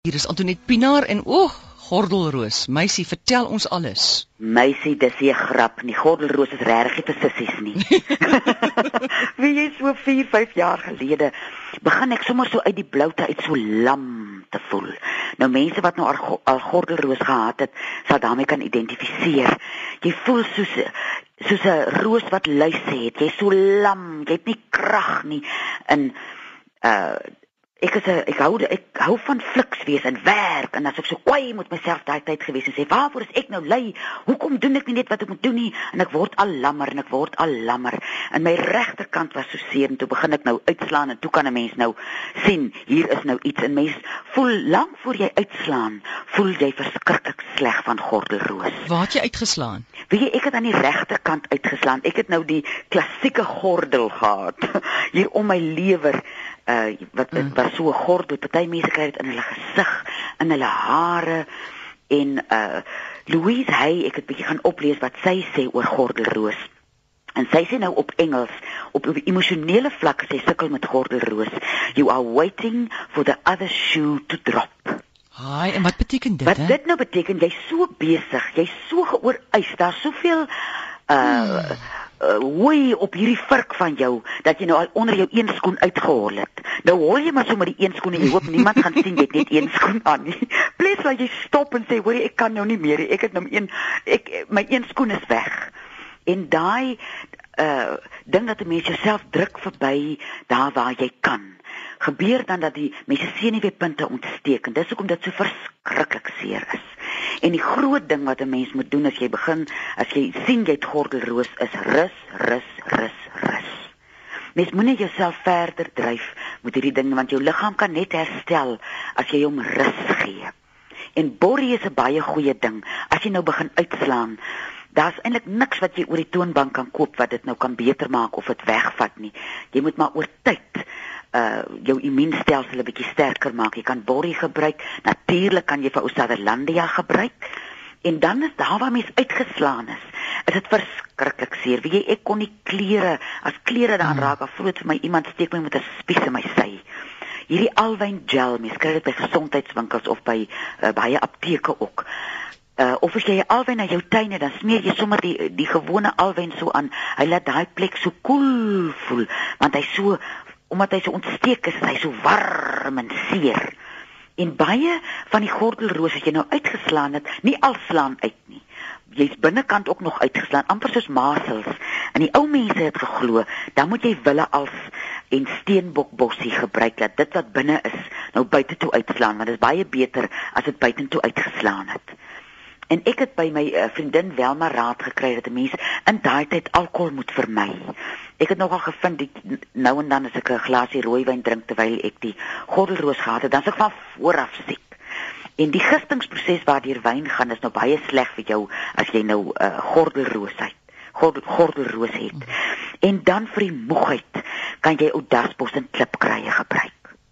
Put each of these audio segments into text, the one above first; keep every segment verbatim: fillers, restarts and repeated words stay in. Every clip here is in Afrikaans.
Hier is Antoinette Pinaar en oog, Gordelroos. Meisie, vertel ons alles. Meisie, dis nie 'n grap nie. Gordelroos is regtig nie vir sissies nie. Wie jy so vier, vyf jaar gelede begin ek sommer so uit die bloute uit so lam te voel. Nou mense wat nou al, al Gordelroos gehad het, sal daarmee kan identifiseer. Jy voel soos soos 'n roos wat luise het. Jy's so lam, jy het nie krag nie. En uh Ek is 'n ek hou ek hou van fliks wees en werk en as ek so kwaai met myself daai tyd gewees en sê waarvoor is ek nou lui? Hoekom doen ek nie net wat ek moet doen nie? En ek word al lammer en ek word al lammer. En my regterkant was so seer en toe begin ek nou uitslaan en toe kan 'n mens nou sien hier is nou iets en mens voel lank voor jy uitslaan, voel jy verskriklik sleg van Gordelroos. Waar het jy uitgeslaan? Weet jy, ek het aan die regterkant uitgeslaan. Ek het nou die klassieke gordel gehad hier om my lewer. Uh, wat dit was so 'n gordel, party mense kry dit in hulle gesig, in hulle hare en uh Louise Hay, ek het bietjie gaan oplees wat sy sê oor Gordelroos. En sy sê nou op Engels, op op emosionele vlak, sy sukkel met Gordelroos. You are waiting for the other shoe to drop. Haai, en wat beteken dit? Wat hè? dit nou beteken, jy's so besig, jy's so geoorwys, daar's soveel uh hmm. Uh, hooi op hierdie vurk van jou, dat jy nou al onder jou een skoen uitgehol het. Nou hol jy maar so met die een skoen en jy hoop niemand gaan sien jy het net een skoen aan nie. Please laat jy stop en sê, hoorie, ek kan nou nie meer nie. Ek het nou een ek my een skoen is weg. En daai uh ding dat 'n mens jouself druk verby daar waar jy kan. Gebeur dan dat die mense senuweepunte ontsteek en dis hoekom dit so verskriklik seer is. En die groot ding wat 'n mens moet doen as jy begin, as jy sien jy het Gordelroos, is rus, rus, rus, rus. Mens moenie jouself verder dryf met hierdie ding, want jou liggaam kan net herstel as jy hom rus gee. En borrie is 'n baie goeie ding. As jy nou begin uitslaan, daar's eintlik niks wat jy oor die toonbank kan koop wat dit nou kan beter maak of dit wegvat nie. Jy moet maar oor tyd uh jou immuunstelsel 'n bietjie sterker maak. Jy kan borrie gebruik. Natuurlik kan jy vir ou Sutherlandia gebruik. En dan is daar waar mens uitgeslaan is, is dit verskriklik seer. Weet jy, ek kon nie klere, as klere daaraan raak, of voel dit vir my iemand steek my met 'n spies in my sy. Hierdie alwyn gel, mens kry dit by gesondheidswinkels of by uh, baie apteke ook. Uh, of as jy alwyn na jou tuin het, dan smeer jy sommer die die gewone alwyn so aan. Hy laat daai plek so koel voel, want hy so omdat hy so ontsteek is, hy so warm en seer. En baie van die Gordelroos as jy nou uitgeslaan het, nie al slaan uit nie. Jy's binnekant ook nog uitgeslaan, amper soos masels. En die ou mense het geglo, dan moet jy wille als en steenbokbossie gebruik, dat dit wat binne is, nou buite toe uitslaan, want dit is baie beter as dit buitentoe uitgeslaan het. En ek het by my uh, vriendin Welma raad gekry dat 'n mens in daai tyd alkohol moet vermy. Ek het nogal gevind, die, nou en dan as ek 'n glasie rooiwyn drink terwyl ek die Gordelroos gehad het, dan is ek van vooraf siek. En die gistingsproses waardeur wyn gaan is nou baie sleg vir jou as jy nou uh, Gordelroos het. Gordel, Gordelroos het. En dan vir die moegheid kan jy oudasbos en klipkruie gebruik.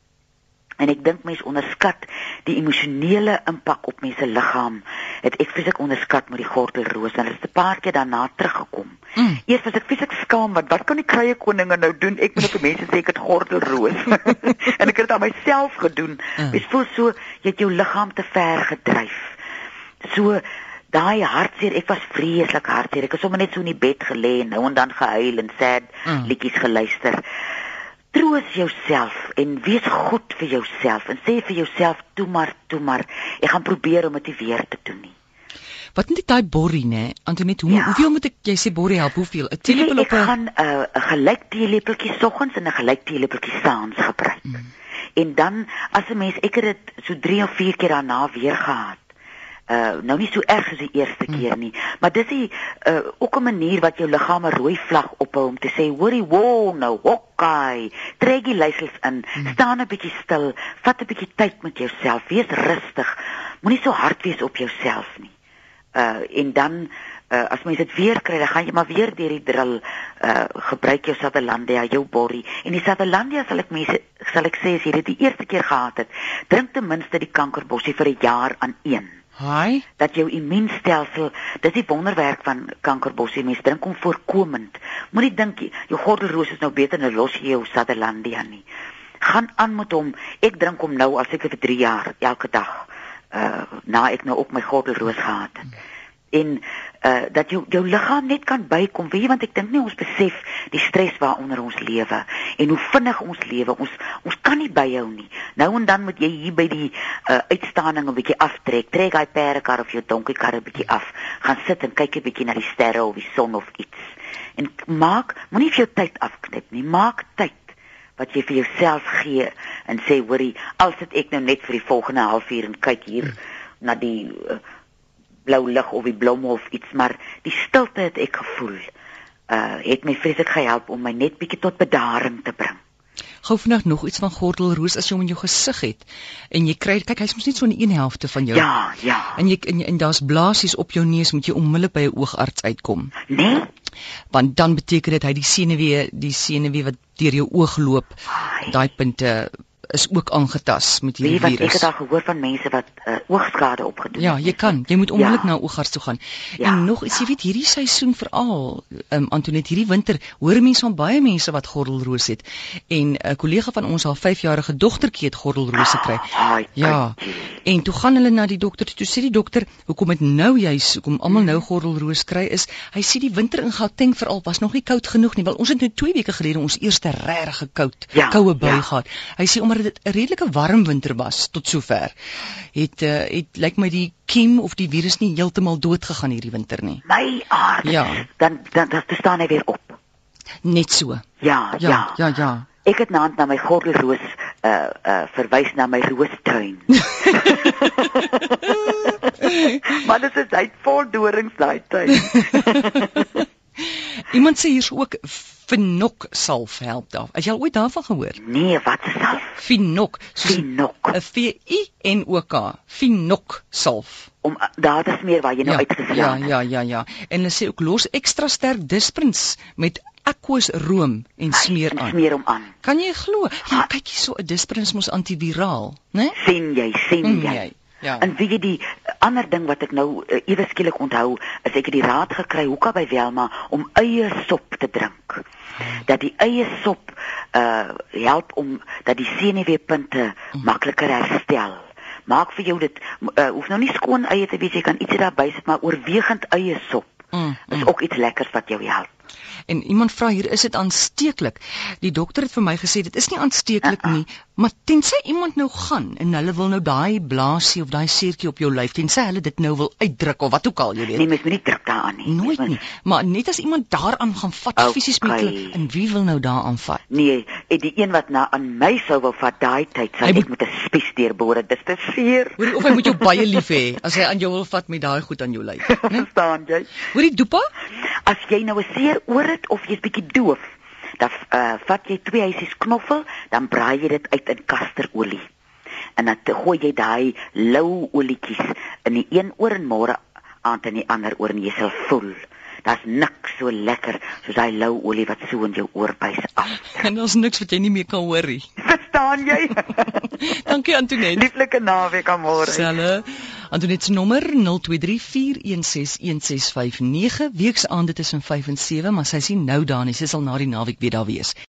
En ek dink mense onderskat die emosionele impak op mense liggaam. Het ek vreeslik onderskat met die Gordelroos en dit is 'n paar keer daarna teruggekom. Mm. Eers was ek vreeslik skaam, want wat kan die kruie koninge nou doen? Ek moet op mense sê ek het Gordelroos. En ek het dit aan myself gedoen. Mm. Ek voel so, jy het jou liggaam te ver gedryf. So daai hartseer, ek was vreeslik hartseer. Ek het sommer net so in die bed gelê en nou en dan gehuil en sad mm. liedjies geluister. Troos jouself en wees goed vir jouself en sê vir jouself, toe maar, toe maar, ek gaan probeer om dit nie weer te doen nie. Wat moet ek daai borrie, né? Antoinette, hoe, ja. hoeveel moet ek, jy sê borrie help, hoeveel? 'n teelepel op 'n... Ek gaan 'n uh, gelyk teelepeltjie soggens en 'n gelyk teelepeltjie saans gebruik. Mm. En dan, as 'n mens, ek het dit so drie of vier keer daarna weer gehad. Uh, nou nie so erg soos die eerste mm. keer nie, maar dis die, uh, ook 'n manier wat jou liggaam 'n rooi vlag ophou om te sê, hoorie, wow, nou, hokkai, trek die leisels in, mm. staan 'n bietjie stil, vat 'n bietjie tyd met jouself, wees rustig, moenie so hard wees op jouself nie. Uh, en dan, uh, as mens dit weer kry, dan gaan jy maar weer deur die drill, uh, gebruik jou Sutherlandia, jou borrie, en die Sutherlandia sal ek mense, sal ek sê, as jy dit die eerste keer gehad het, drink ten minste die kankerbossie vir 'n jaar aan een. Hi. Dat jou immuunstelsel, dis die wonderwerk van kankerbossie, mens drink hom voorkomend. Moenie dink jou Gordelroos is nou beter, nou los jy jou Sutherlandia nie. Gaan aan met hom. Ek drink hom nou al seker vir drie jaar elke dag. Uh na ek nou op my gordelroos gehad het. En uh dat jou jou liggaam net kan bykom, weet jy, want ek dink nie ons besef die stres waaronder ons lewe en hoe vinnig ons lewe. Ons ons kan nie byhou nie. Nou en dan moet jy hier by die uh uitstaaning 'n bietjie aftrek. Trek hy perdekar of jou donkiekar 'n bietjie af. Gaan sit en kyk 'n bietjie na die sterre of die son of iets. En maak, moenie vir jou tyd afknip nie. Maak tyd wat jy vir jouself gee en sê, hoorie, al sit ek nou net vir die volgende halfuur en kyk hier hmm. na die uh, blou lig of die blomme of iets, maar die stilte het ek gevoel, uh, het my vreeslik gehelp om my net bietjie tot bedaring te bring. Gou vandag nog iets van gordelroos as jy hom in jou gesig het en jy kry, kyk, hy's mos net so in een helfte van jou. Ja, ja. En jy en, en daar's blaasies op jou neus, moet jy onmiddellik by 'n oogarts uitkom. Nee? Want dan beteken dit hy die senuwee, die senuwee wat deur jou oog loop, daai punte is ook aangetas met hierdie virus. virus. Ek het al gehoor van mense wat uh, oogskade opgedoen ja, het. Ja, jy kan. Jy moet onmiddellik ja. na 'n oogarts toe gaan. Ja. En nog iets, jy weet, hierdie seisoen veral, um, Antoinette, hierdie winter, hoor mense van baie mense wat gordelroos het. En 'n uh, kollega van ons, haar vyfjarige dogtertjie het gordelroos gekry. Oh, ja. En toe gaan hulle na die dokter, toe sê die dokter, hoekom dit nou juis, hoekom almal nou gordelroos kry is, hy sê die winter in Gauteng veral was nog nie koud genoeg nie, wel ons het nou twee weke gelede ons eerste regtig koud, ja, koue bui ja. gehad. Hy sê omdat dit 'n redelike warm winter was tot sover, het uh, het lyk my die kiem of die virus nie heeltemal dood gegaan hierdie winter nie. My aard. Ja. Dan dan dan staan hy weer op. Net so. Ja, Ja, ja. ja, ja. Ek het naand na my gordelroos uh uh verwys na my roostuin. Maar dit is hy vol dorings daai tuin. Iemand sê hier's ook Finok salf help daar. Het jy al ooit daarvan gehoor? Nee, wat is salf? Finok, soos Finok. 'n V I N O K. Finok salf. Om uh, daar te smeer waar jy nou Ja, uitgeslaan het. ja, ja, ja. En hulle sê ook los ekstra sterk disprins met aqueous room en smeer En aan. smeer hom aan. Kan jy glo? Ja, kyk hier so 'n disprins mos antiviraal, né? Sien jy, sien Mm, jy. jy. Ja. En weet jy die ander ding wat ek nou uh, ewe skielik onthou, is ek het die raad gekry hoeka by Welma om eie sop te drink. Dat die eie sop uh help om dat die senuweepunte Mm. makliker herstel. Maak vir jou dit uh, hoef nou nie skoon eie te wees, jy kan ietsie daarby sit, maar oorwegend eie sop Mm, is mm. ook iets lekkers wat jou help. En iemand vra hier, is dit aansteeklik? Die dokter het vir my gesê dit is nie aansteeklik Uh-uh. nie, maar tensy iemand nou gaan en hulle wil nou daai blaasie of daai seertjie op jou lyf, tensy hulle dit nou wil uitdruk of wat ook al, jy weet. Nee, mens moet nie druk daaraan nie. Nooit Mens nie, maar net as iemand daaraan gaan vat, Okay. fisies met hulle, en wie wil nou daaraan vat? Nee, en die een wat na aan my sou wou vat daai tyd, sal Hy ek moet- met 'n spies deurbore. Dis te seer. Hoorie, of hy moet jou baie lief hê as hy aan jou wil vat met daai goed aan jou lyf. Né? Verstaan jy? Hoorie, Doepa? As jy nou 'n seer oor het of jy's bietjie doof, dan uh, vat jy twee huisies knoffel, dan braai jy dit uit in kasterolie. En dan te- gooi jy daai lou olietjies in die een oor en môre aand in die ander oor en jy sal voel. Daar's niks so lekker soos daai lou olie wat so in jou oorbuis af. En daar's niks wat jy nie meer kan hoor nie. Verstaan jy? Dankie Antoinette. Lieflike naweek aan môre. Selle. Antoinette se nommer nul twee drie vier een ses een ses vyf nege, weeksaande tussen vyf en sewe, maar sy sien nou daar nie, sy sal na die naweek weer daar wees.